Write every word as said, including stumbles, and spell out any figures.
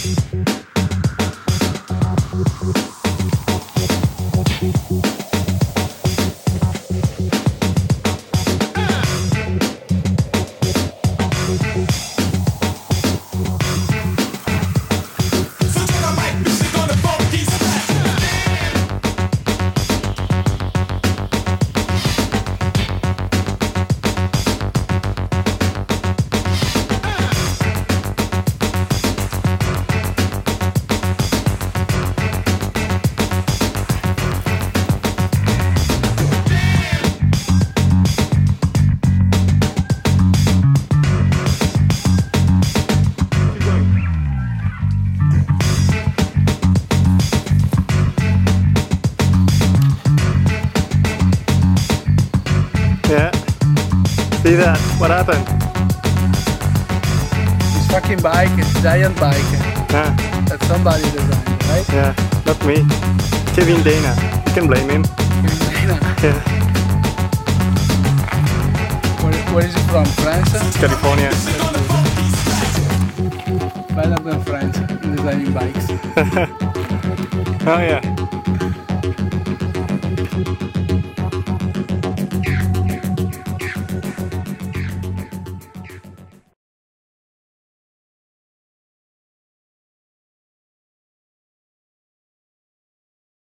Yeah. See that? What happened? This fucking bike is a giant bike Yeah. that somebody designed, right? Yeah. Not me. Kevin Dana. You can blame him. Yeah. Where, where is it from? France? It's California. Better than France in designing bikes. Oh yeah.